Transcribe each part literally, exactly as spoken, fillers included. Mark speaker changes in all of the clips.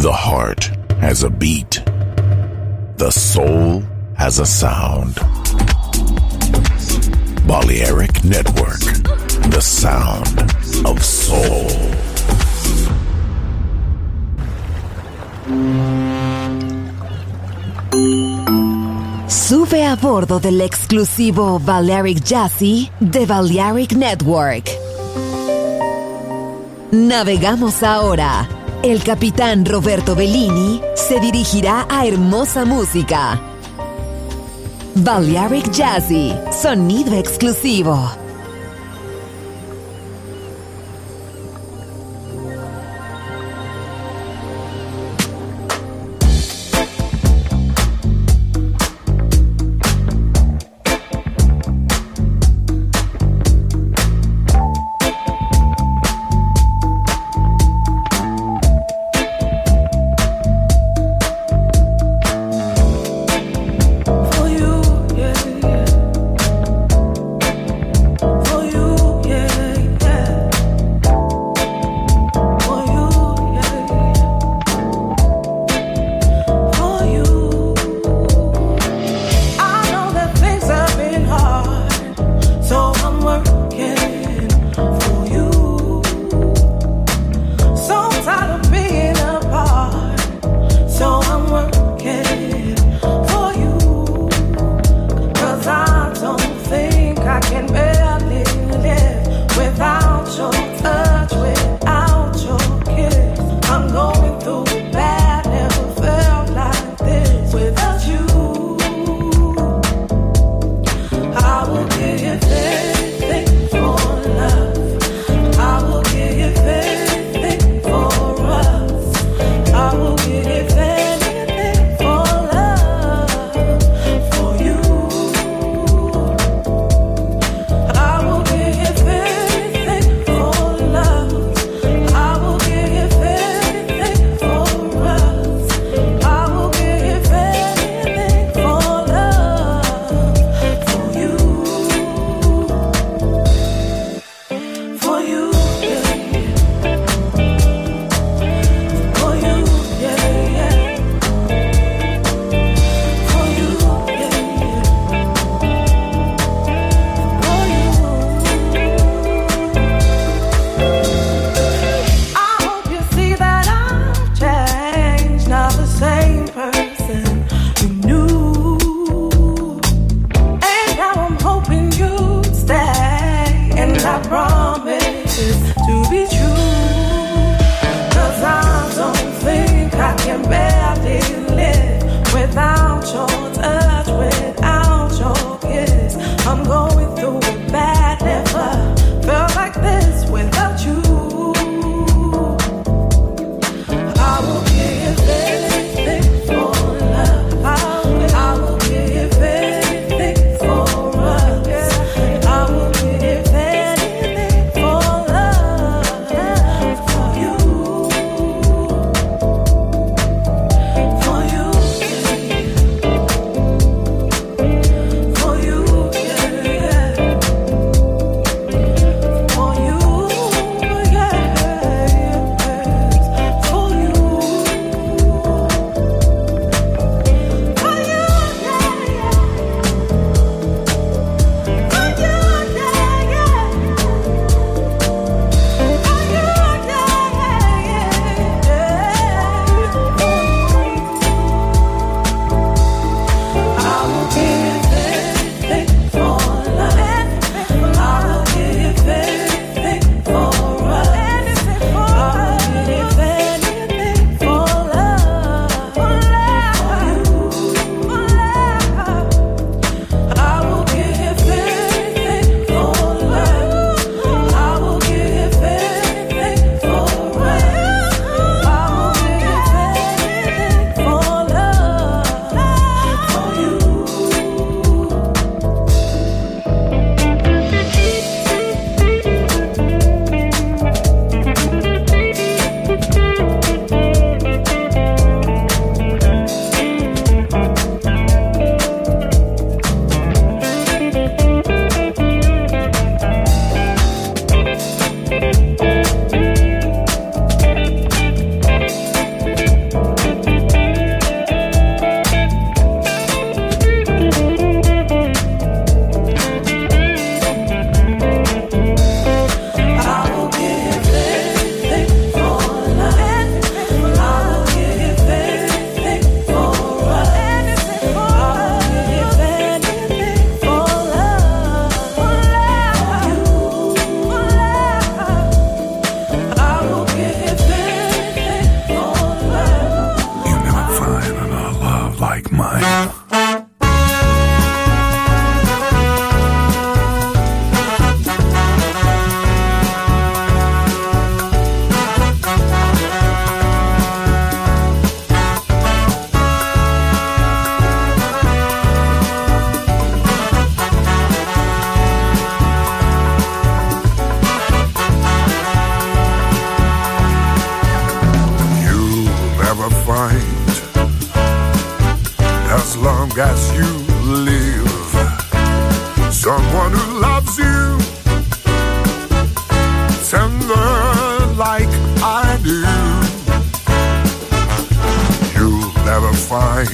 Speaker 1: The heart has a beat. The soul has a sound. Balearic Network, the sound of soul.
Speaker 2: Sube a bordo del exclusivo Balearic Jazzy de Balearic Network. Navegamos ahora. El capitán Roberto Bellini se dirigirá a hermosa música. Balearic Jazzy, sonido exclusivo.
Speaker 3: For you, yeah, yeah.
Speaker 1: as you live. Someone who loves you tender like I do. You'll never find,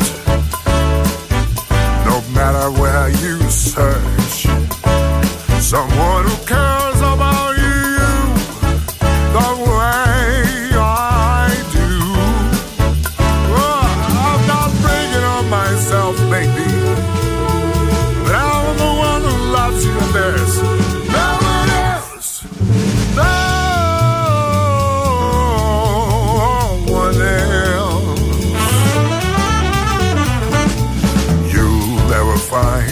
Speaker 1: no matter where you search, someone who cares about you the way I do. Oh, I'm not bragging on myself, baby, but I'm the one who loves you, and there's no one else, no one else. You'll never find,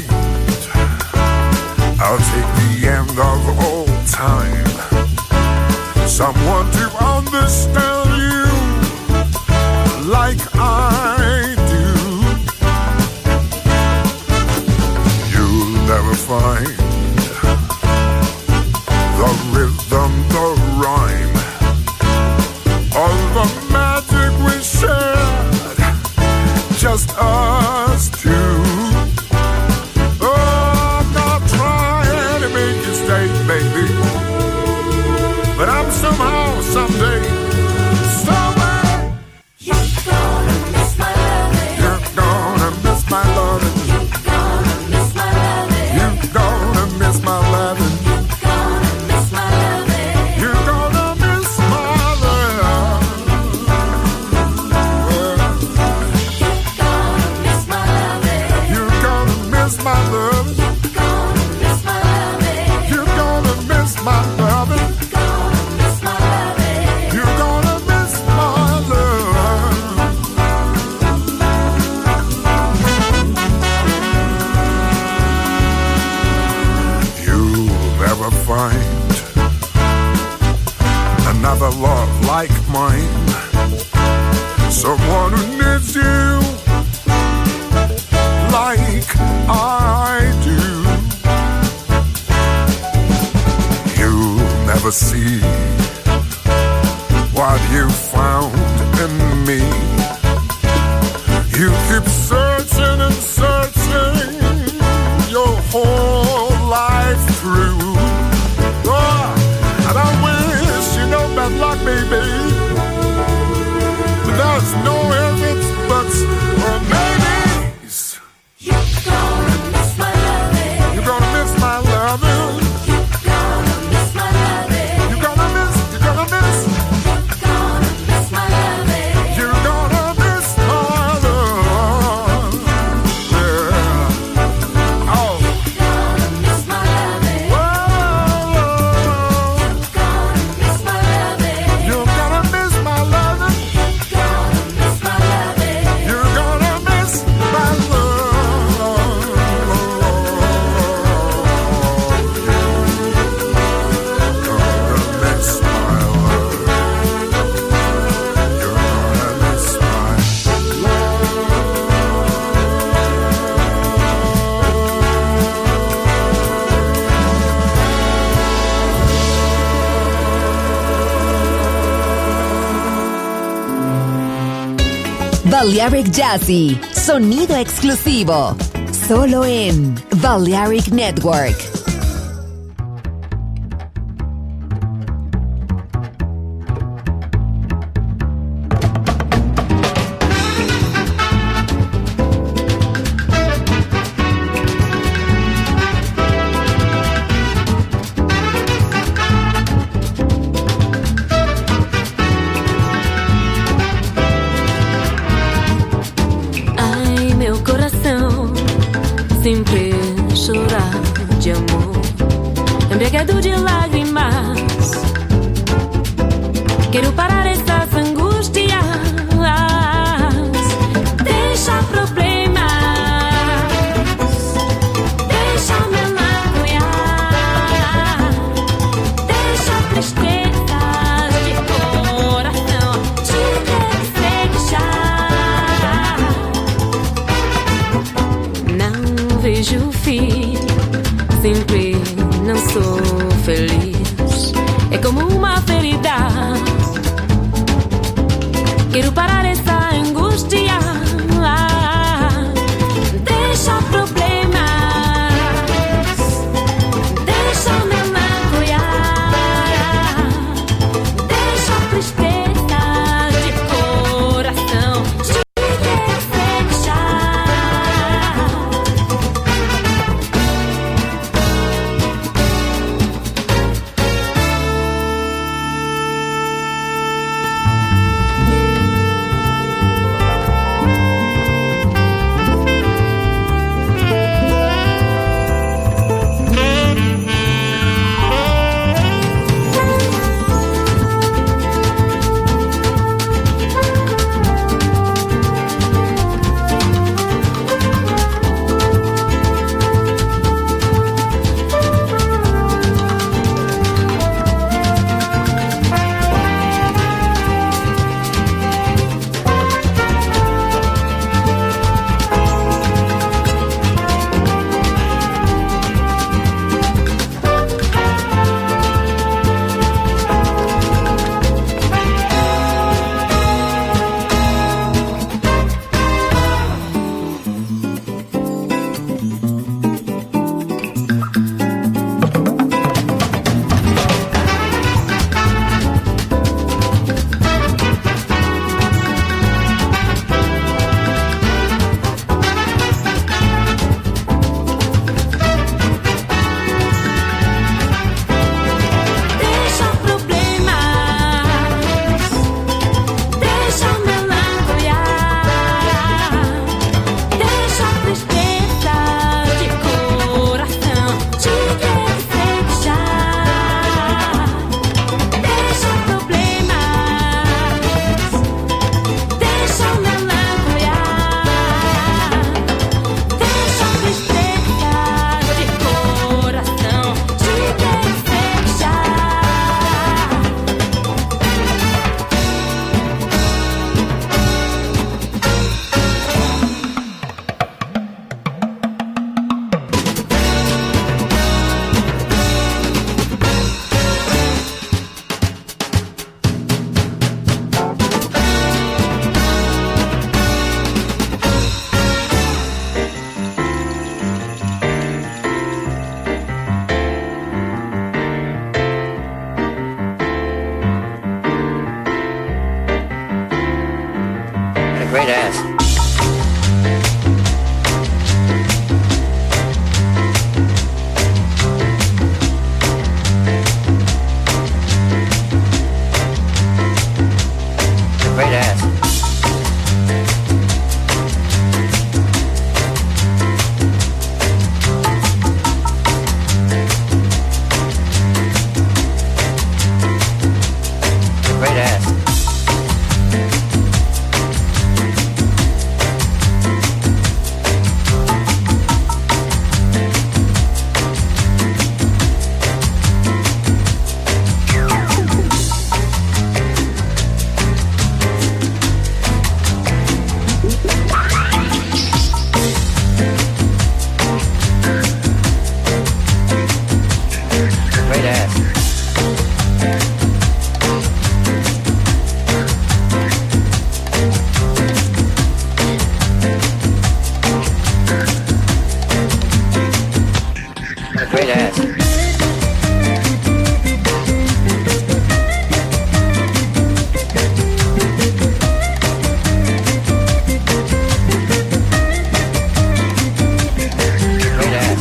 Speaker 1: I'll take the end of all time, someone to understand you like I do. You'll never find the rhythm, the rhyme, all the magic we shared, just us two. Baby, but I'm somehow, someday, somewhere, you're gonna miss my loving. You're gonna miss my loving. You're gonna miss my loving. You're gonna miss my loving. You're gonna miss my loving. You're gonna miss my loving. You're gonna miss my loving. My loving, you're gonna miss my love. You'll never find another love like mine, someone who needs you like I do. Never see what you found in me. You keep searching and searching your whole life through. Oh, and I wish you no bad luck, baby, but there's no ifs, buts, or maybes. You're gonna miss my loving. You're gonna miss my loving.
Speaker 2: Balearic Jazzy, sonido exclusivo, solo en Balearic Network.
Speaker 3: Sempre chorar de amor, embriagado de lágrimas. Quero parar essas angústias, deixa problemas, deixa melancolia, deixa tristezas de coração, te deixar. Não vejo fim, sempre não sou feliz. É como uma ferida. Quero parar essa angústia,
Speaker 4: great ass. Great ass. Great ass. Great ass. Great ass. Great ass.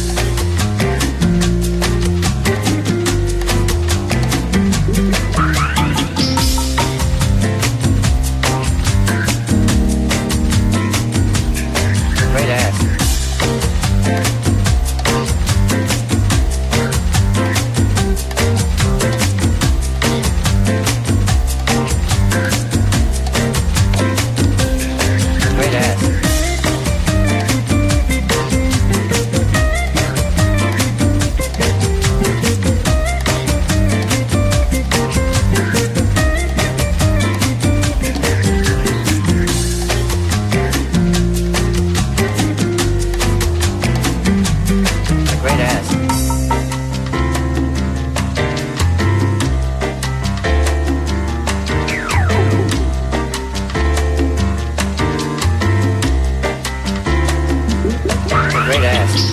Speaker 4: Great ass. Great ass. Great ass. Great ass.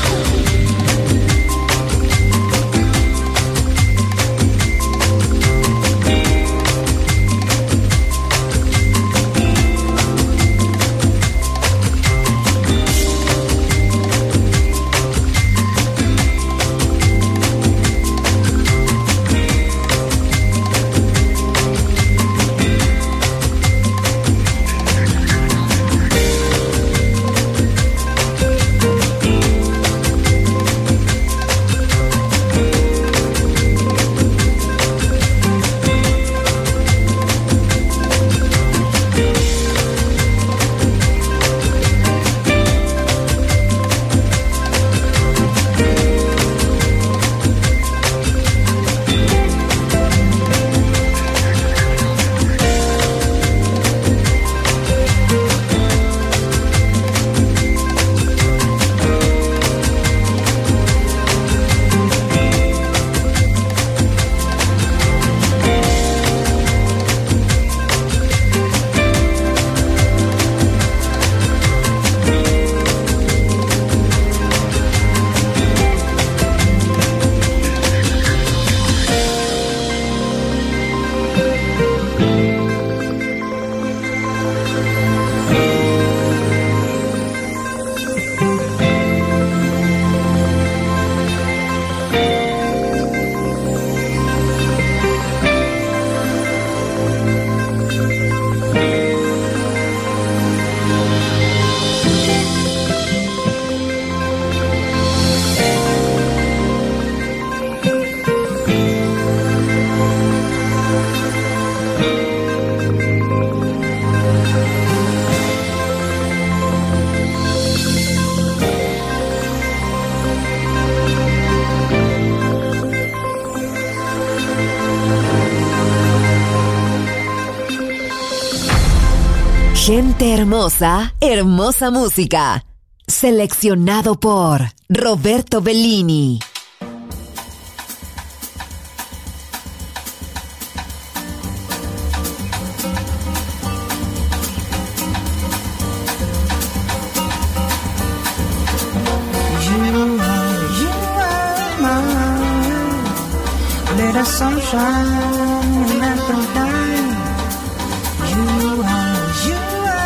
Speaker 2: Gente hermosa, hermosa música. Seleccionado por Roberto Bellini.
Speaker 5: Little sunshine in that time. You are, you are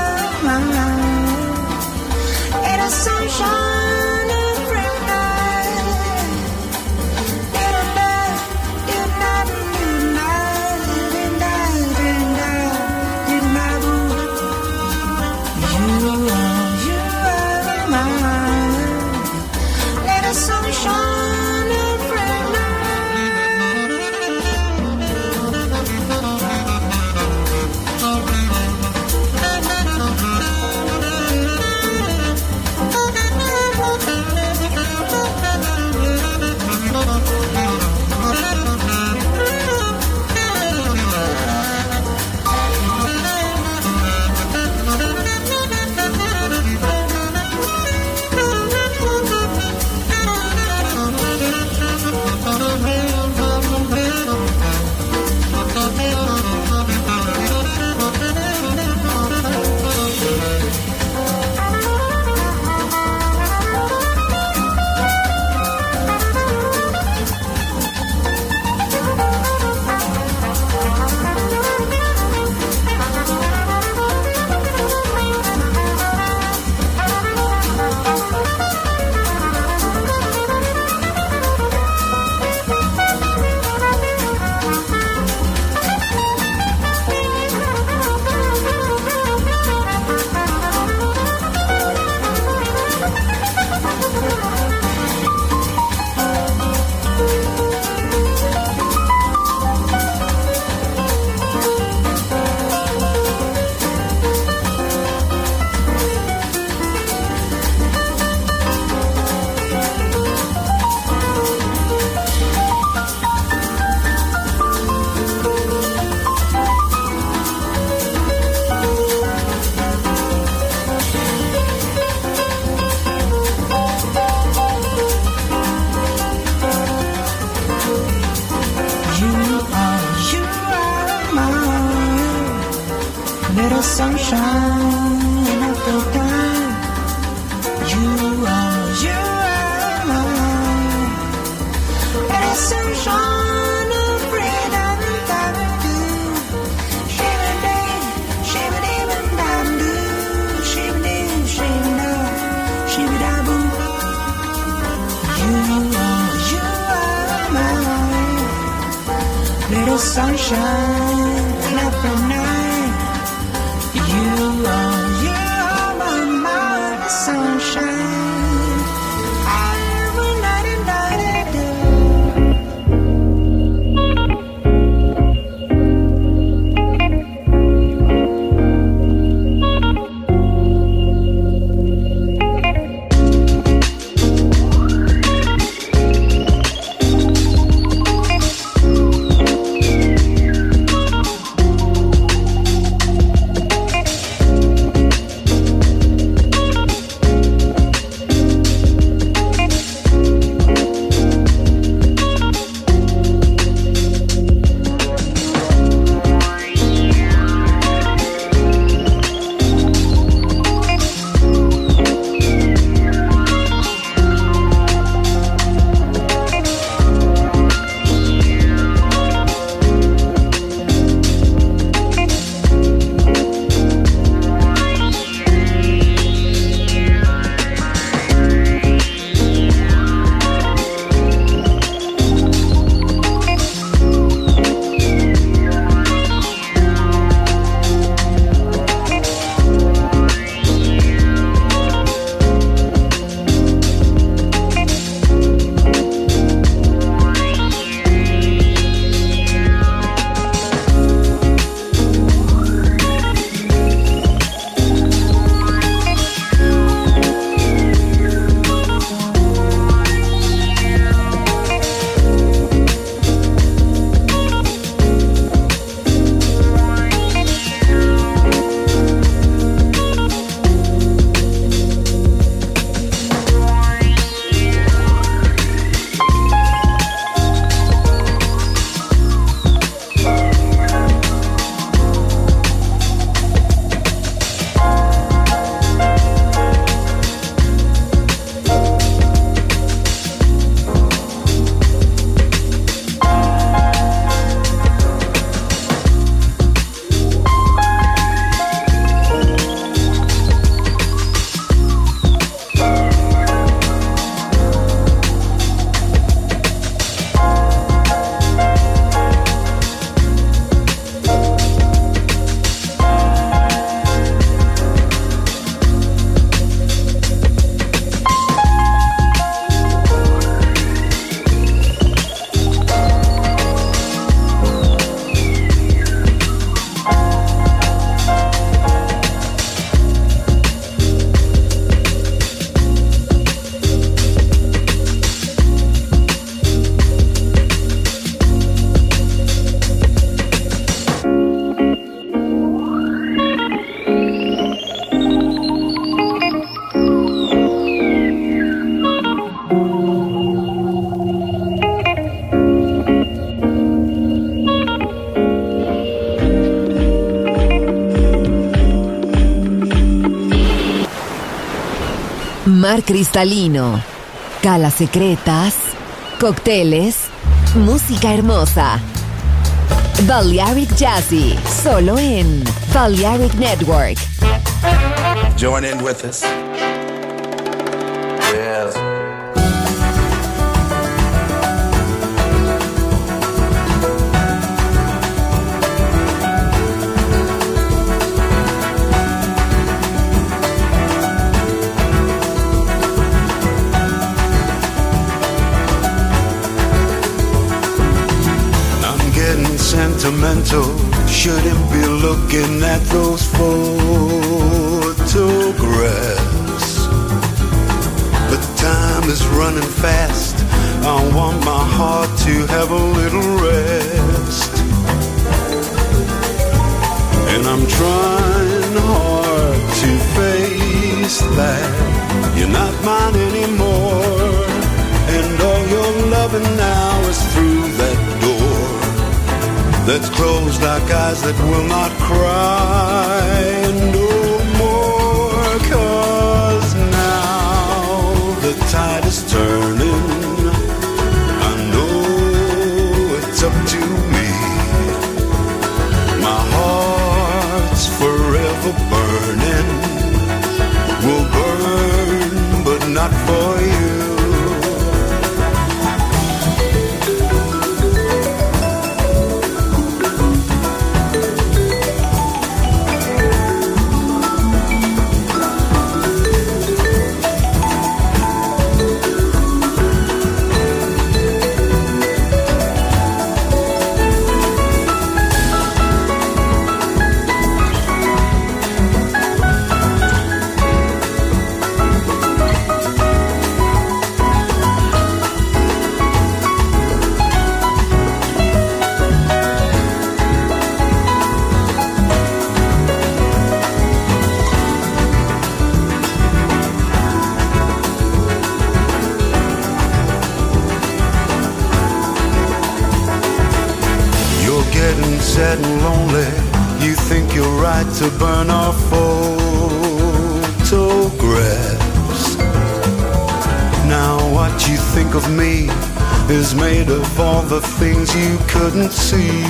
Speaker 5: little sunshine in April time. You are, you are my life. Little sunshine of freedom, da-da-do. Shimmy-day, shimmy-dee-bum-dum-doo. Shimmy-dee, shimmy-da, shimmy-da-boo. You are, you are my life. Little sunshine in April night. You are, you are my mind, sunshine. Every night and night and day.
Speaker 2: Mar cristalino, calas secretas, cócteles, música hermosa. Balearic Jazzy, solo en Balearic Network.
Speaker 6: Join in with us. Yes.
Speaker 7: Sentimental, shouldn't be looking at those photographs. But time is running fast. I want my heart to have a little rest. And I'm trying hard to face that you're not mine anymore. And all your loving now is through that door that's closed like eyes that will not cry no more. 'Cause now the tide is turning, I know it's up to me. My heart's forever burning, will burn but not for you. Sad and lonely, you think you're right to burn our photographs. Now what you think of me is made of all the things you couldn't see.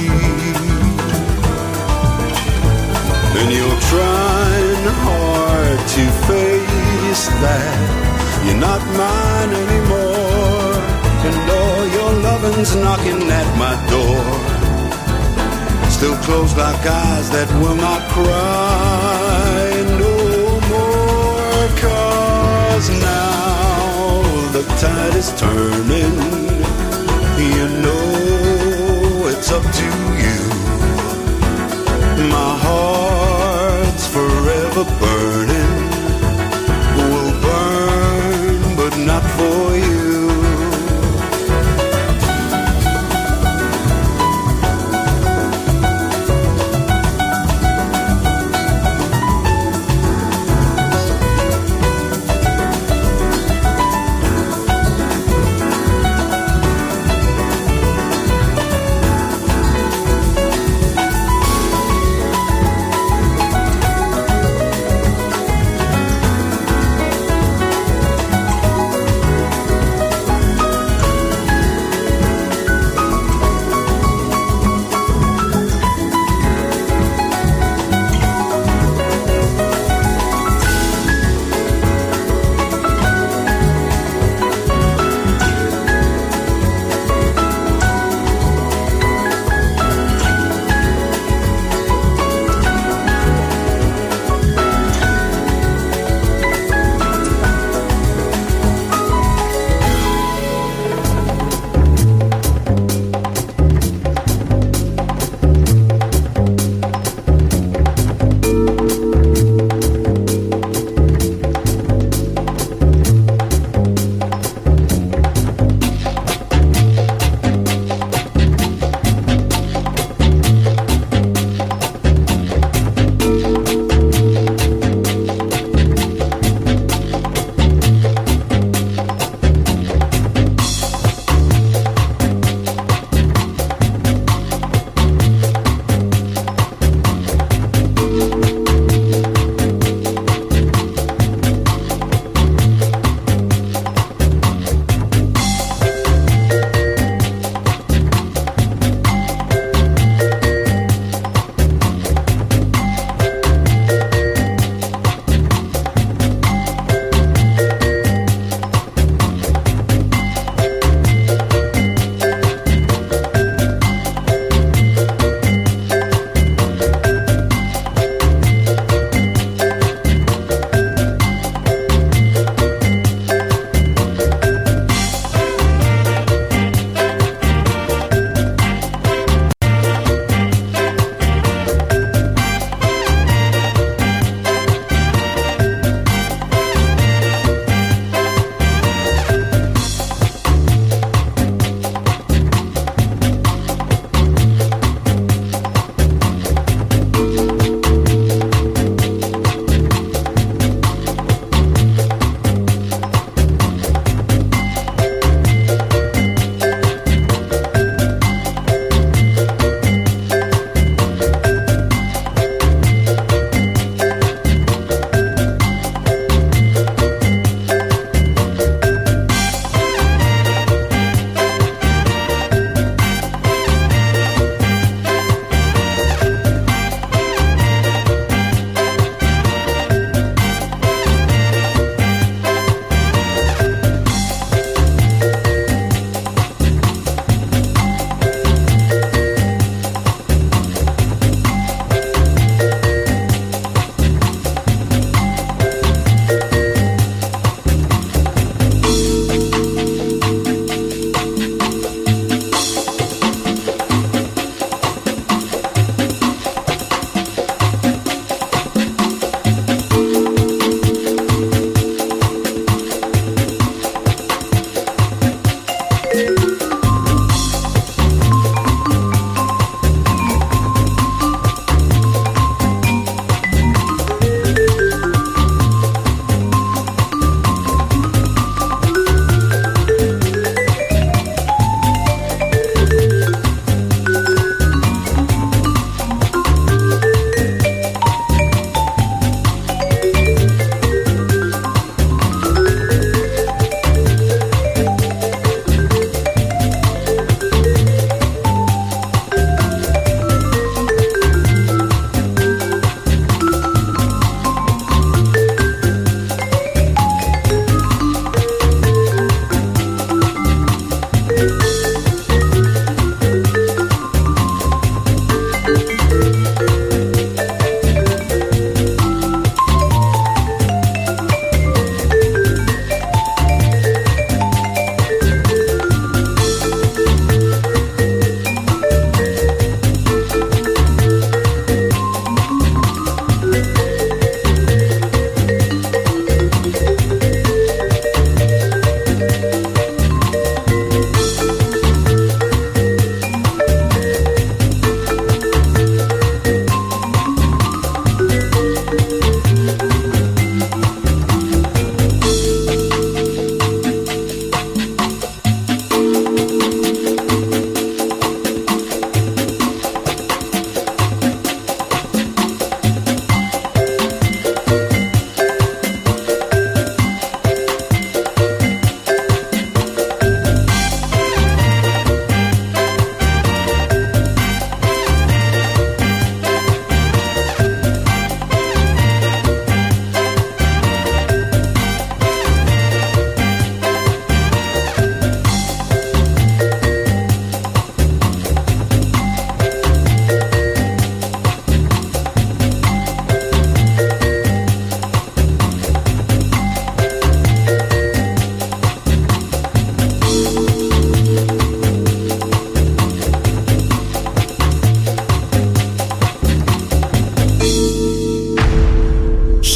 Speaker 7: And you're trying hard to face that you're not mine anymore, and all your loving's knocking at my door. Still closed like eyes that will not cry no more. 'Cause now the tide is turning, you know it's up to you. My heart's forever burning, will burn but not for you.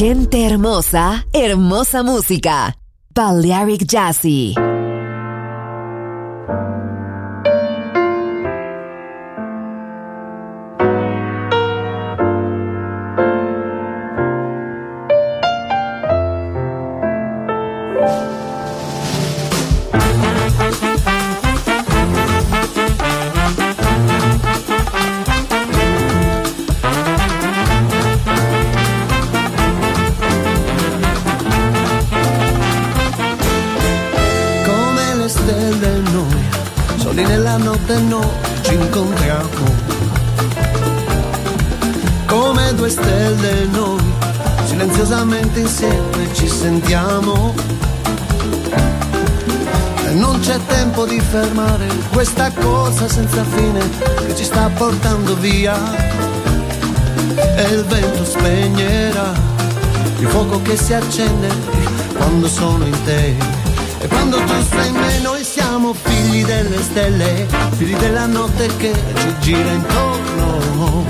Speaker 2: Gente hermosa, hermosa música. Balearic Jazzy.
Speaker 8: notte noi ci incontriamo, come due stelle noi, silenziosamente insieme ci sentiamo. E non c'è tempo di fermare questa corsa senza fine che ci sta portando via. E il vento spegnerà il fuoco che si accende quando sono in te. E quando tu sei in me noi siamo figli delle stelle, figli della notte che ci gira intorno.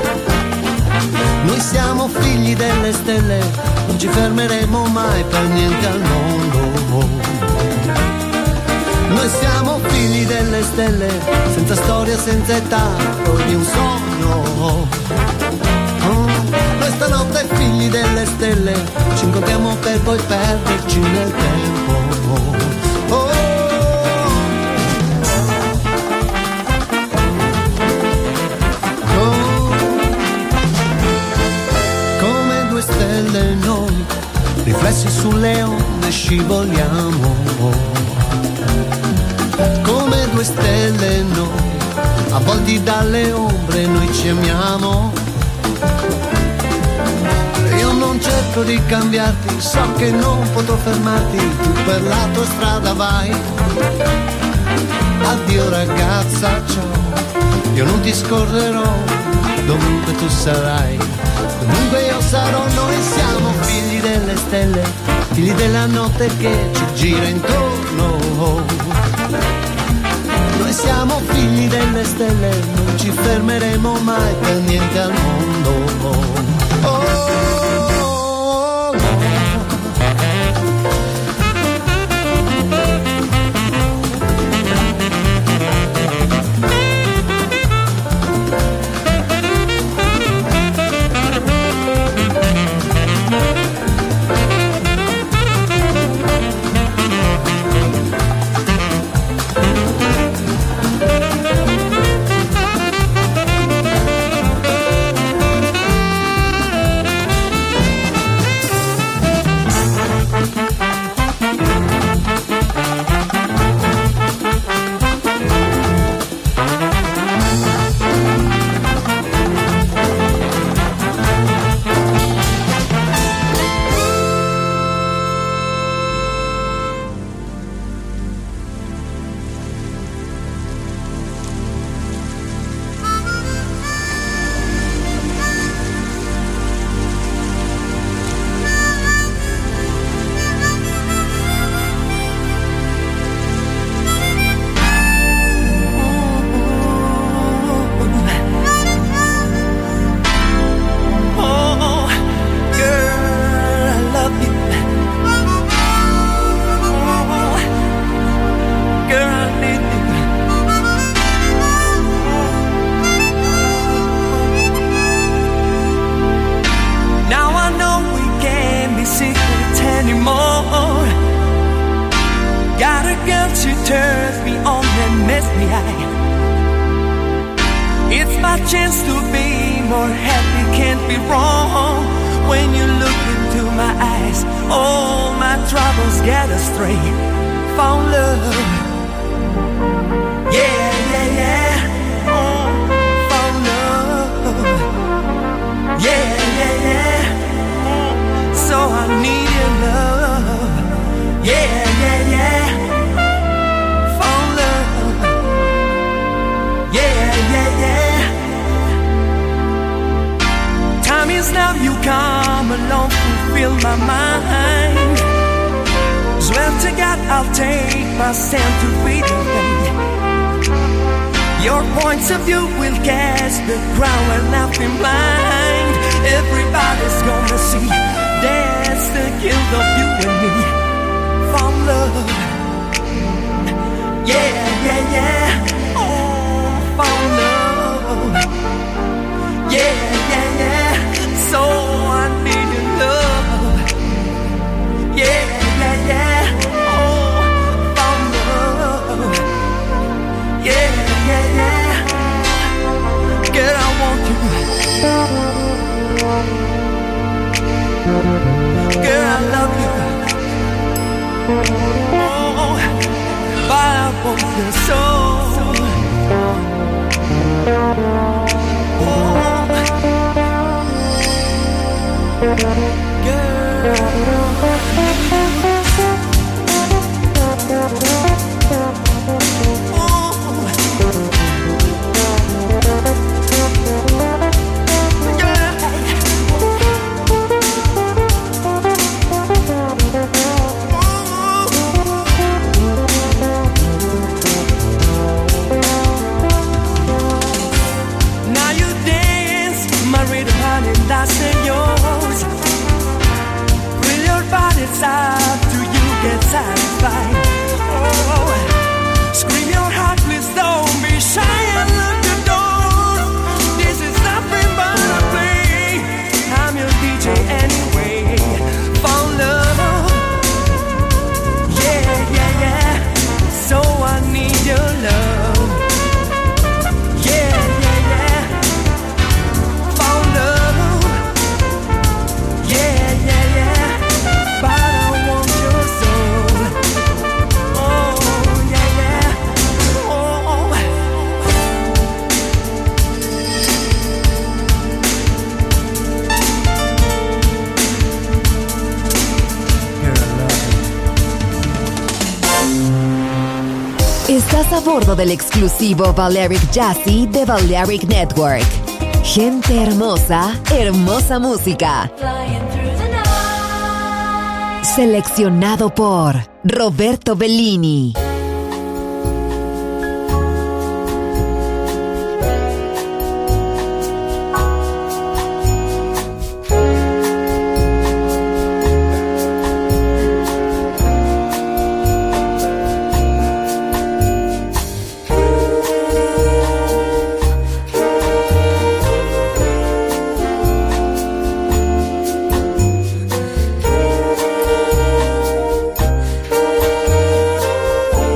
Speaker 8: Noi siamo figli delle stelle, non ci fermeremo mai per niente al mondo. Noi siamo figli delle stelle, senza storia, senza età, ogni un sogno. Oh, noi stanotte figli delle stelle, ci incontriamo per poi perderci nel tempo. Oh, oh, come due stelle noi, riflessi sulle onde scivoliamo. Come due stelle noi, avvolti dalle ombre noi ci amiamo. Io non cerco di cambiarti, so che non potrò fermarti, tu per la tua strada vai. Addio ragazza, ciao, io non ti scorderò, dovunque tu sarai, dovunque io sarò. Noi siamo figli delle stelle, figli della notte che ci gira intorno. Noi siamo figli delle stelle, non ci fermeremo mai per niente al mondo. Oh,
Speaker 5: Yeah, yeah, yeah. Oh, found love. Yeah, yeah, yeah. So I need your love. Yeah, yeah, yeah. Oh, found love. Yeah, yeah, yeah. Girl, I want you. Girl, I love you. Oh, but I want you so. Oh, girl. Up to you get satisfied. Oh, scream your heart, please don't be shy and lock the door. This is nothing but a play. I'm your D J anyway. Found love. Yeah, yeah, yeah. So I need your love. Yeah, yeah, yeah. Found love. Yeah, yeah, yeah. But I want your soul. Oh, yeah, yeah. Oh.
Speaker 2: Estás a bordo del exclusivo Balearic Jazzy de Balearic Network. Gente hermosa, hermosa música. Seleccionado por Roberto Bellini.
Speaker 5: Oh,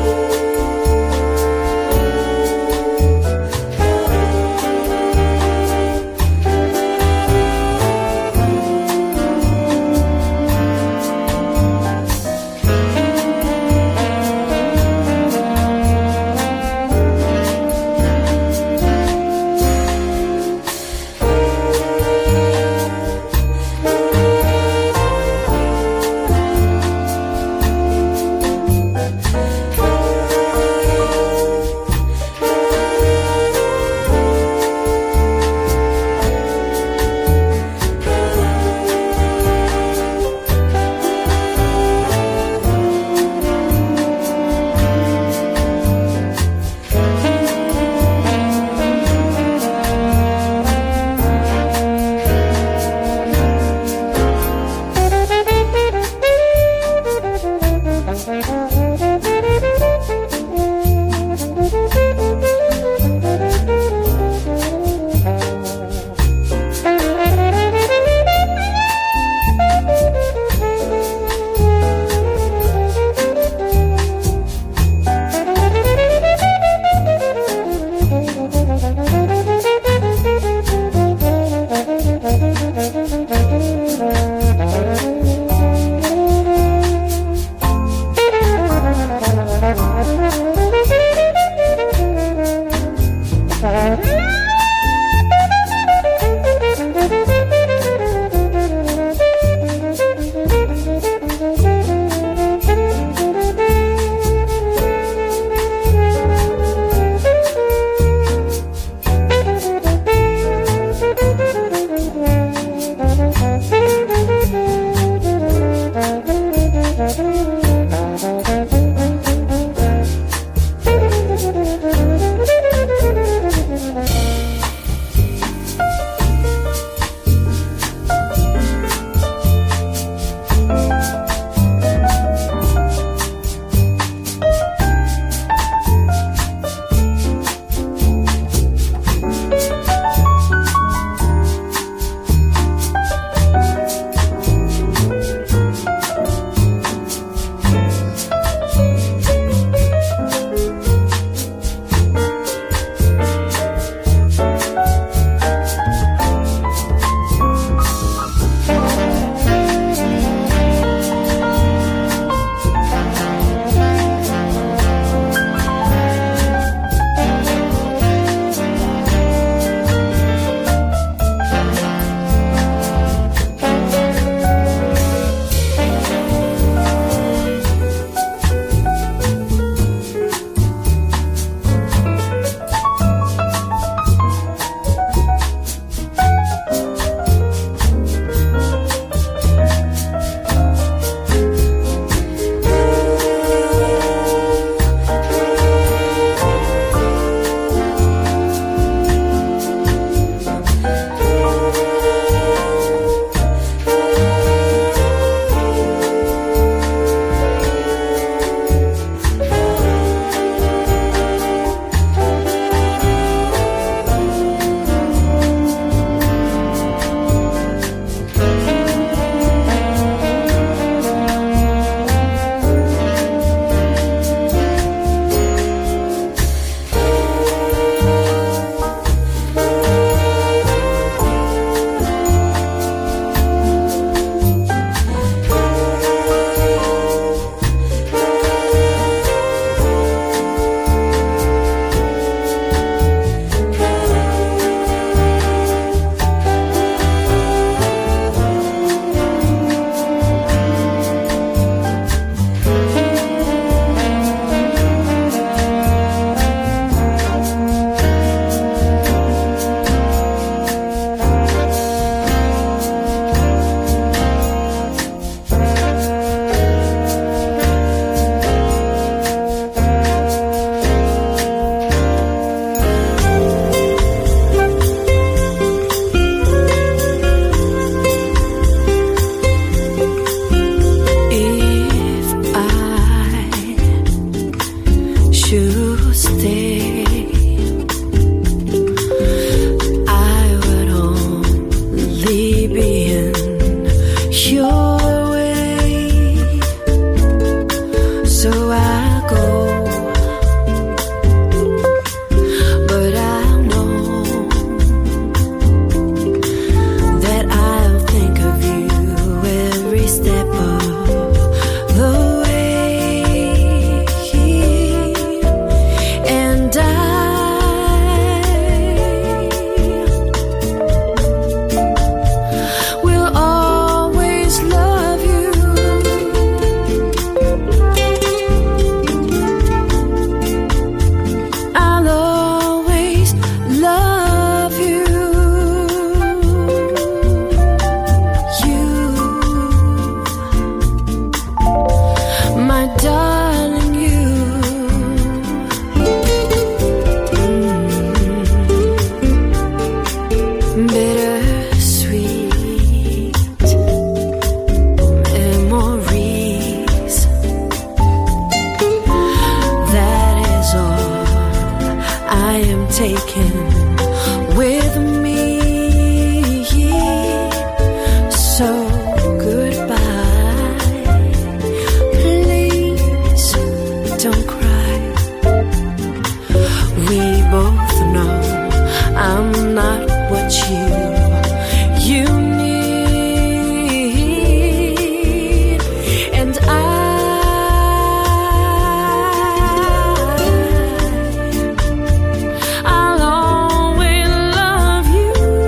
Speaker 3: taken with me. So goodbye, please don't cry. We both know I'm not what you you need, and I I'll always love you.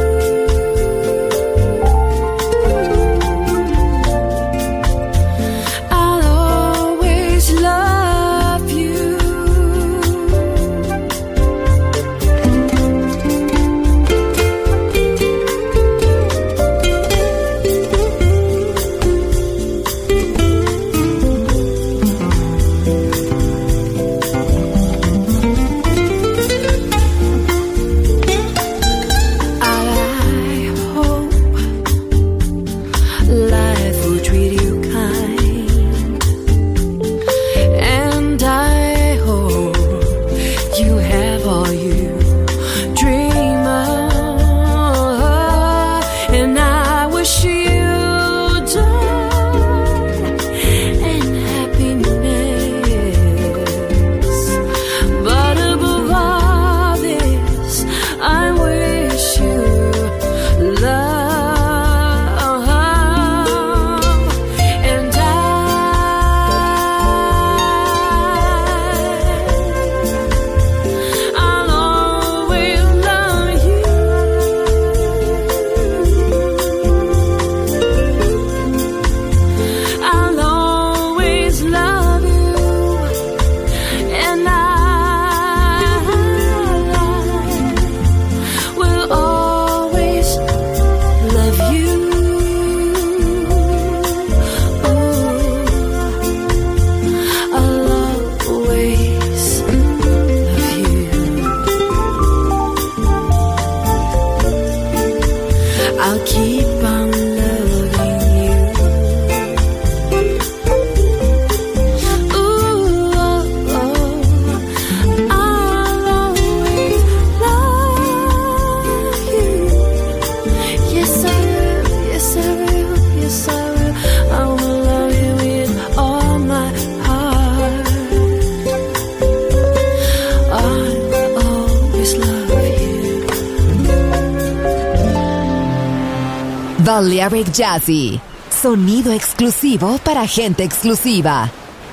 Speaker 3: I'll always love you. I hope life will treat you kind, and I hope you have all you dream of, and I wish you joy and happiness. But above all this, I wish you love, and I I'll always love you. I'll always love you, and I will always love you. Ooh, I'll always love you. I'll keep on loving you. Ooh, oh, oh, I'll always love you. Yes, I will. Yes, I will. Yes, I will. I will love you with all my heart. I'll always love you.
Speaker 2: Balearic Jazzy, sonido exclusivo para gente exclusiva.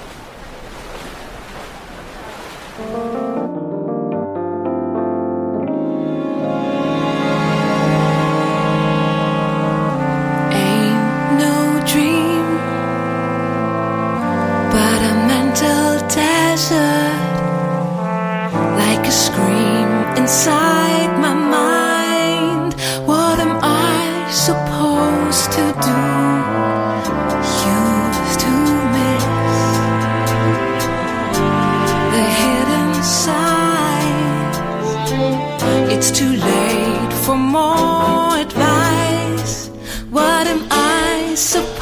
Speaker 3: Ain't no dream, but a mental desert, like a scream inside my mind. What am I supposed to do? Used to miss the hidden signs. It's too late for more advice. What am I supposed